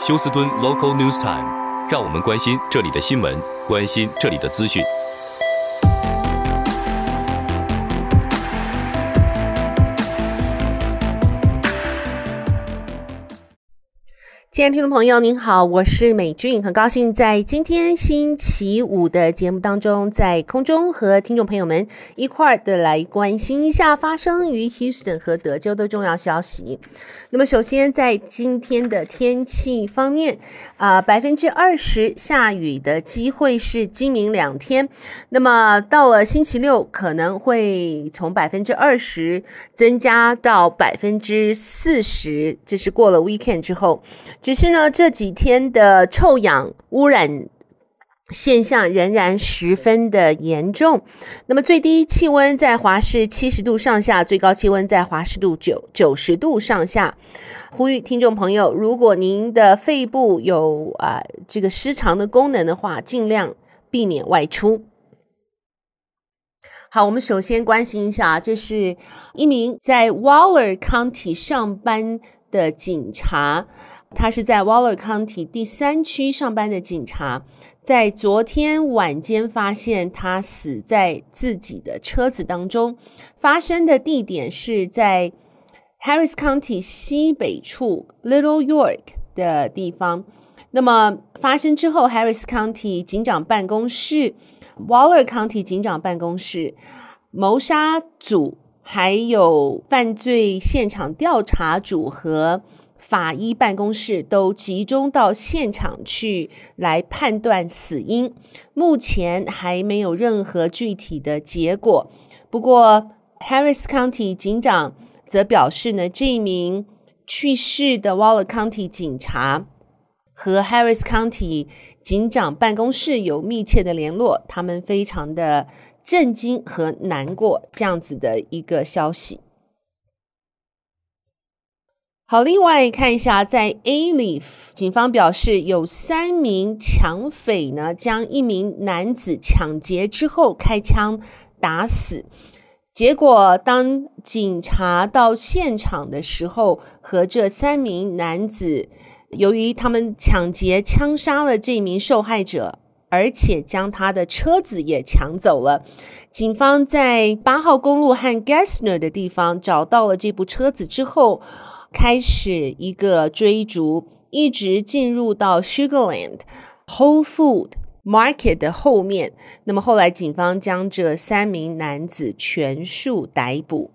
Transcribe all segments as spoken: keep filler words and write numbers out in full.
休斯敦 Local News Time， 讓我們關心這裡的新聞，關心這裡的資訊。 親愛的聽眾朋友您好，我是美俊，很高興在今天星期五的節目當中，在空中和聽眾朋友們一塊兒的來關心一下發生於 Houston 和德州的重要消息。那麼首先在今天的天氣方面，呃，百分之二十下雨的機會是今明兩天，那麼到了星期六可能會從百分之二十增加到百分之四十，這是過了 weekend 之後。只是呢，這幾天的臭氧污染現象仍然十分的嚴重。那麼最低氣溫在華氏七十度上下，最高氣溫在華氏度九九十度上下。呼籲聽眾朋友，如果您的肺部有啊、呃、這個失常的功能的話，盡量避免外出。好，我們首先關心一下，這是一名在 Waller County 上班的警察。他是在 Waller County 第三區上班的警察，在昨天晚間發現他死在自己的車子當中。發生的地點是在 Harris County 西北處 Little York 的地方。那麼發生之後 Harris County 警長辦公室、Waller County 警長辦公室、謀殺組還有犯罪現場調查組和法醫辦公室都集中到現場去來判斷死因，目前還沒有任何具體的結果。不過 Harris County 警長則表示呢，這一名去世的 Waller County 警察和 Harris County 警長辦公室有密切的聯絡，他們非常的震驚和難過這樣子的一個消息。好，另外看一下，在 Alief 警方表示有三名搶匪呢，將一名男子搶劫之後開槍打死。結果當警察到現場的時候，和這三名男子，由於他們搶劫槍殺了這名受害者，而且將他的車子也搶走了。警方在八號公路和 Gessner 的地方找到了這部車子之後，開始一個追逐，一直進入到 Sugarland Whole Food Market 的後面。那麼後來警方將這三名男子全數逮捕。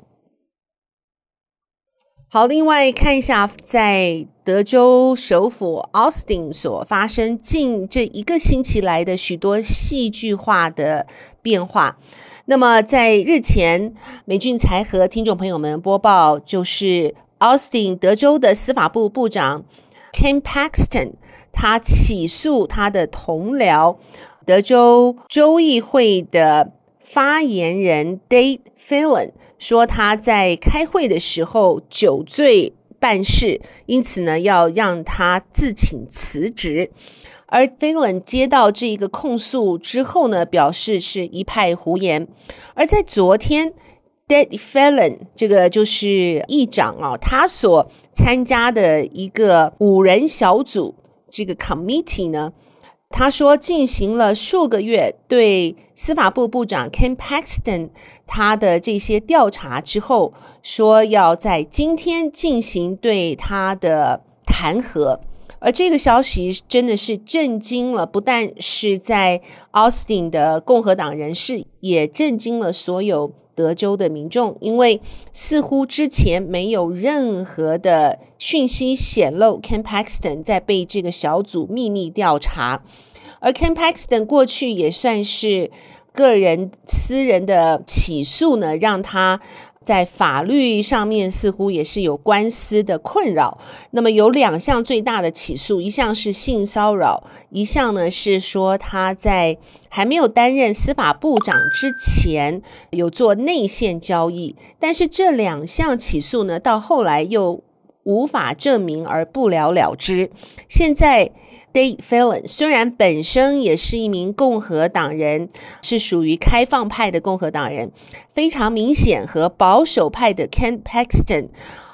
好，另外看一下，在德州首府 Austin 所發生近這一個星期來的許多戲劇化的變化。那麼在日前，美俊才和聽眾朋友們播報，就是Austin 德州的司法部部長 Ken Paxton， 他起訴他的同僚德州州議會的發言人 Dade Phelan， 說他在開會的時候酒醉辦事，因此呢要讓他自請辭職。而 Phelan 接到這個控訴之後呢，表示是一派胡言。而在昨天Dade Phelan 這個就是議長啊，他所參加的一個五人小組這個 committee 呢，他說進行了數個月對司法部部長 Ken Paxton 他的這些調查之後，說要在今天進行對他的彈劾。而這個消息真的是震驚了，不但是在 Austin 的共和黨人士，也震驚了所有德州的民眾，因為似乎之前沒有任何的訊息顯露 Ken Paxton 在被這個小組秘密調查。而 Ken Paxton 過去也算是個人私人的起訴呢，讓他在法律上面似乎也是有官司的困擾。那麼有兩項最大的起訴，一項是性騷擾，一項呢是說他在還沒有擔任司法部長之前有做內線交易。但是這兩項起訴呢，到後來又無法證明而不了了之。現在Dade Phelan 雖然本身也是一名共和黨人，是屬於開放派的共和黨人，非常明顯和保守派的 Ken Paxton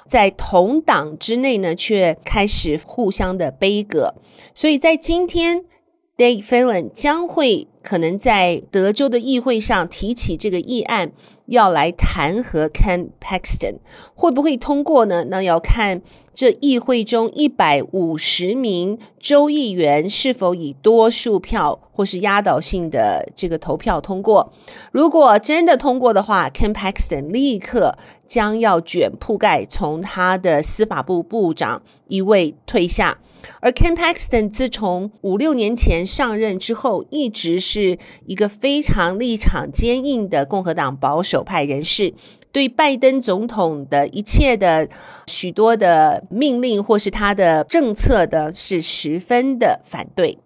在同黨之內呢，卻開始互相的杯葛。所以在今天 Dade Phelan 將會可能在德州的議會上提起這個議案，要來彈劾 Ken Paxton， 會不會通過呢？那要看這議會中一百五十名州議員是否以多數票或是壓倒性的這個投票通過。如果真的通過的話， Ken Paxton 立刻將要捲鋪蓋，從他的司法部部長一位退下。而 Ken Paxton 自從五六年前上任之後，一直是一個非常立場堅硬的共和黨保守派人士，對拜登總統的一切的許多的命令或是他的政策的是十分的反對。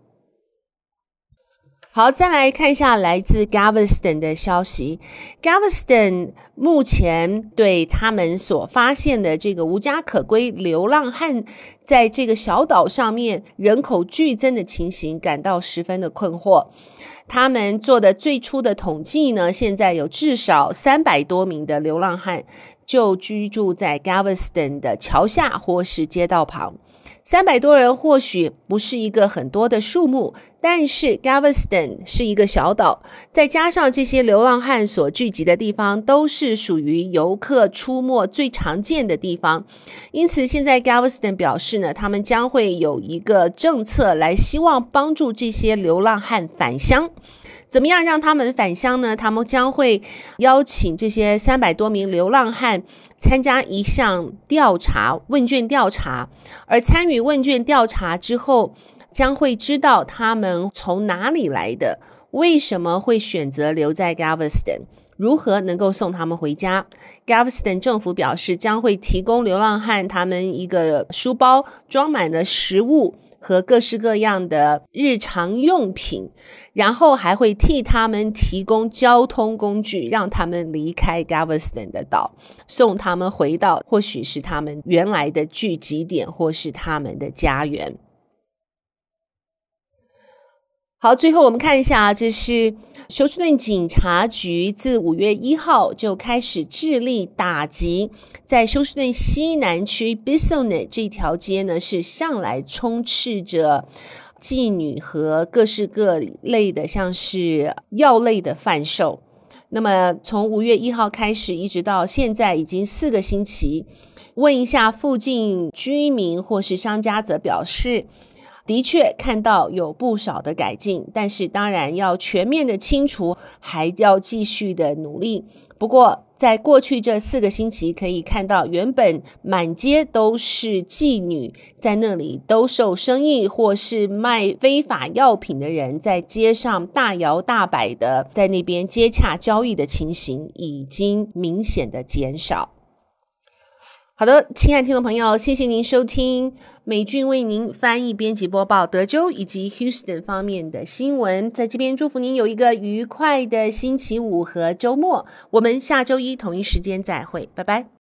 好，再來看一下來自 Galveston 的消息。Galveston 目前對他們所發現的這個無家可歸流浪漢在這個小島上面人口劇增的情形感到十分的困惑。他們做的最初的統計呢，現在有至少三百多名的流浪漢就居住在 Galveston 的橋下或是街道旁。三百多人或許不是一個很多的數目，但是 Galveston 是一個小島，再加上這些流浪漢所聚集的地方都是屬於遊客出沒最常見的地方，因此現在 Galveston 表示呢，他們將會有一個政策來希望幫助這些流浪漢返鄉。怎麼樣讓他們返鄉呢？他們將會邀請這些三百多名流浪漢參加一項調查，問卷調查，而參與問卷調查之後，將會知道他們從哪裡來的，為什麼會選擇留在 Galveston， 如何能夠送他們回家。Galveston 政府表示，將會提供流浪漢他們一個書包，裝滿了食物和各式各樣的日常用品，然後還會替他們提供交通工具，讓他們離開 Galveston 的島，送他們回到或許是他們原來的聚集點，或是他們的家園。好，最後我們看一下，這是休斯頓警察局自五月一號就開始致力打擊，在休斯頓西南區 Bissonnet 這條街呢，是向來充斥着妓女和各式各類的像是藥類的販售。那麼從五月一號開始一直到現在已經四個星期，問一下附近居民或是商家則表示，的確看到有不少的改進，但是當然要全面的清除，還要繼續的努力。不過在過去這四個星期可以看到，原本滿街都是妓女在那裡兜售生意，或是賣非法藥品的人在街上大搖大擺的在那邊接洽交易的情形已經明顯的減少。好的，親愛的聽眾朋友，謝謝您收聽美俊為您翻譯編輯播報德州以及 Houston 方面的新聞，在這邊祝福您有一個愉快的星期五和周末，我們下周一同一時間再會，拜拜。